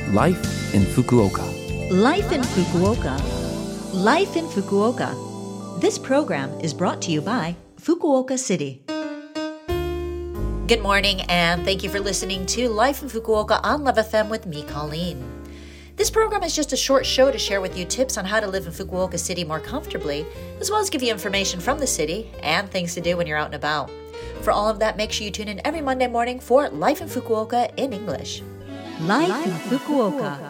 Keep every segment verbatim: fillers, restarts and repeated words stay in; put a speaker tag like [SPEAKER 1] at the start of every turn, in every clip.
[SPEAKER 1] Life in Fukuoka.
[SPEAKER 2] Life in Fukuoka. Life in Fukuoka. This program is brought to you by Fukuoka City. Good morning, and thank you for listening to Life in Fukuoka on Love F M with me, Colleen. This program is just a short show to share with you tips on how to live in Fukuoka City more comfortably, as well as give you information from the city and things to do when you're out and about. For all of that, make sure you tune in every Monday morning for Life in Fukuoka in English. Life, Life in Fukuoka.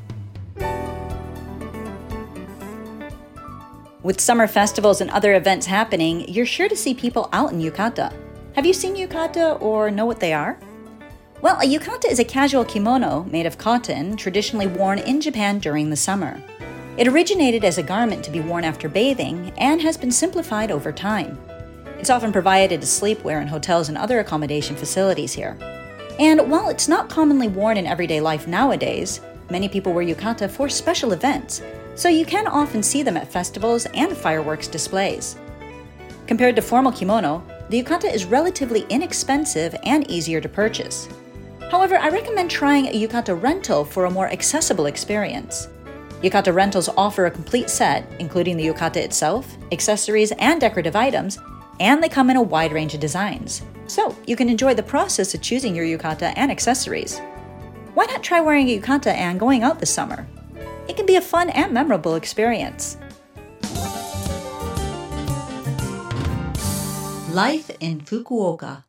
[SPEAKER 2] With summer festivals and other events happening, you're sure to see people out in yukata. Have you seen yukata or know what they are? Well, a yukata is a casual kimono made of cotton, traditionally worn in Japan during the summer. It originated as a garment to be worn after bathing and has been simplified over time. It's often provided as sleepwear in hotels and other accommodation facilities here. And while it's not commonly worn in everyday life nowadays, many people wear yukata for special events, so you can often see them at festivals and fireworks displays. Compared to formal kimono, the yukata is relatively inexpensive and easier to purchase. However, I recommend trying a yukata rental for a more accessible experience. Yukata rentals offer a complete set, including the yukata itself, accessories, and decorative items, and they come in a wide range of designs. So you can enjoy the process of choosing your yukata and accessories. Why not try wearing a yukata and going out this summer? It can be a fun and memorable experience. Life in Fukuoka.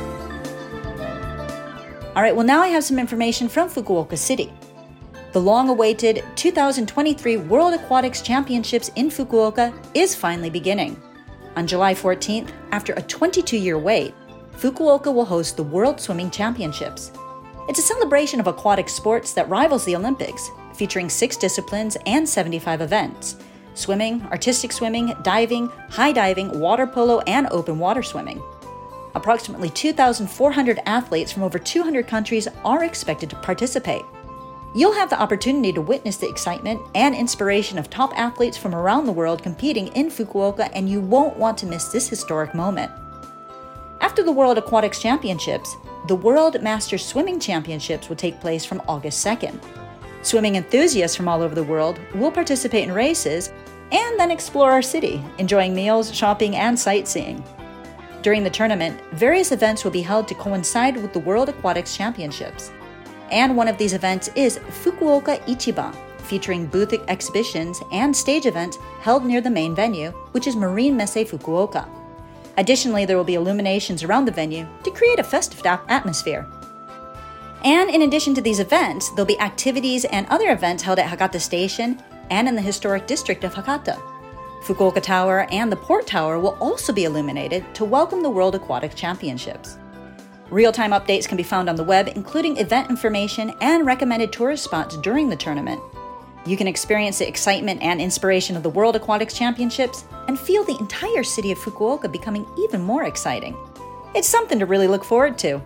[SPEAKER 2] All right, well, now I have some information from Fukuoka City. The long-awaited two thousand twenty-three World Aquatics Championships in Fukuoka is finally beginning. On July fourteenth, after a twenty-two-year wait, Fukuoka will host the World Swimming Championships. It's a celebration of aquatic sports that rivals the Olympics, featuring six disciplines and seventy-five events: swimming, artistic swimming, diving, high diving, water polo, and open water swimming. Approximately two thousand four hundred athletes from over two hundred countries are expected to participate. You'll have the opportunity to witness the excitement and inspiration of top athletes from around the world competing in Fukuoka, and you won't want to miss this historic moment. After the World Aquatics Championships, the World Masters Swimming Championships will take place from August second. Swimming enthusiasts from all over the world will participate in races and then explore our city, enjoying meals, shopping, and sightseeing. During the tournament, various events will be held to coincide with the World Aquatics Championships. And one of these events is Fukuoka Ichiban, featuring booth exhibitions and stage events held near the main venue, which is Marine Messe Fukuoka. Additionally, there will be illuminations around the venue to create a festive atmosphere. And in addition to these events, there'll be activities and other events held at Hakata Station and in the historic district of Hakata. Fukuoka Tower and the Port Tower will also be illuminated to welcome the World Aquatic Championships. Real-time updates can be found on the web, including event information and recommended tourist spots during the tournament. You can experience the excitement and inspiration of the World Aquatics Championships and feel the entire city of Fukuoka becoming even more exciting. It's something to really look forward to.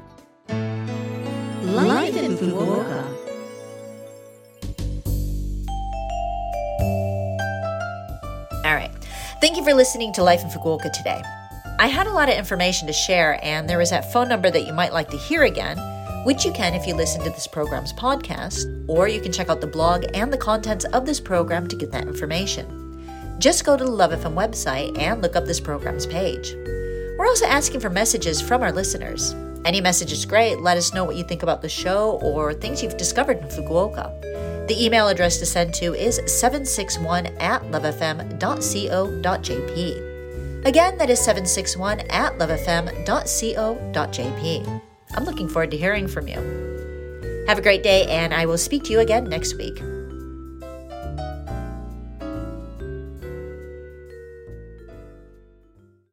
[SPEAKER 2] Life in Fukuoka. All right. Thank you for listening to Life in Fukuoka today. I had a lot of information to share, and there is that phone number that you might like to hear again, which you can if you listen to this program's podcast, or you can check out the blog and the contents of this program to get that information. Just go to the Love F M website and look up this program's page. We're also asking for messages from our listeners. Any message is great. Let us know what you think about the show or things you've discovered in Fukuoka. The email address to send to is seven six one at lovefm dot co dot jp. Again, that is seven six one at lovefm dot co dot jp. I'm looking forward to hearing from you. Have a great day, and I will speak to you again next week.